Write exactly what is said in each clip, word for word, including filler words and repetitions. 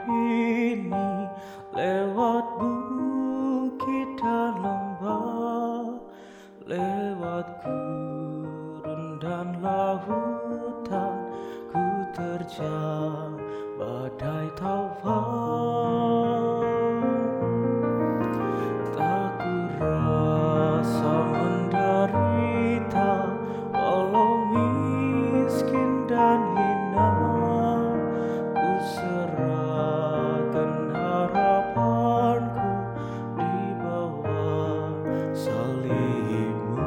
ini lewat bukit dan lembah, lewat gurun dan lautan, ku terjang badai taufan. Tak ku rasa menderita, walau miskin dan hina, ku serahkan harapanku di bawah salibmu.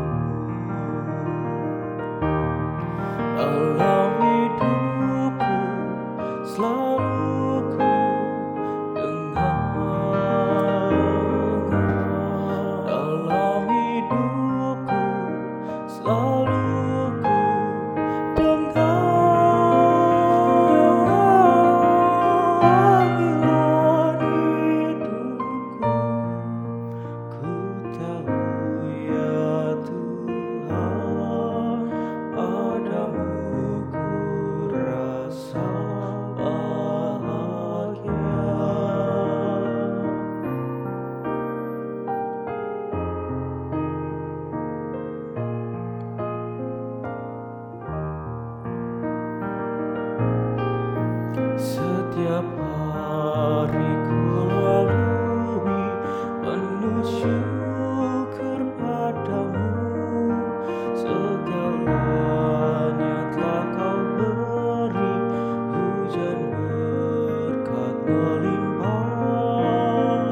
Dalam hidupku selalu ku dengar, dalam hidupku selalu ku dengar panggilan hidupku. Ku tahu ya Tuhan, padamu ku rasa bahagia. Setiap hari ku lalui penuh syukur padamu, segalanya telah kau beri, hujan berkat melimpah.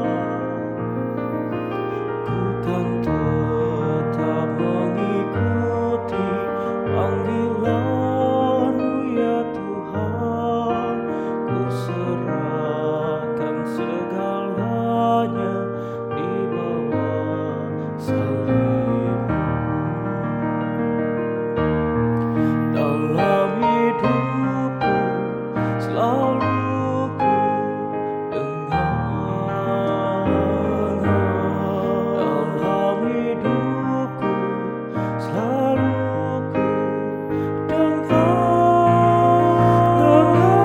Ku kan tetap mengikuti panggilan-Mu ya Tuhan, ku serahkan segalanya di bawah salib-Mu. Dalam hidupku selalu ku dengar, dalam hidupku selalu ku dengar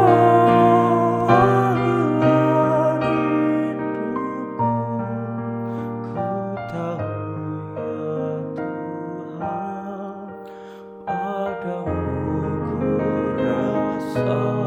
panggilan hidupku. Ku tahu ya Tuhan, padamu ku rasa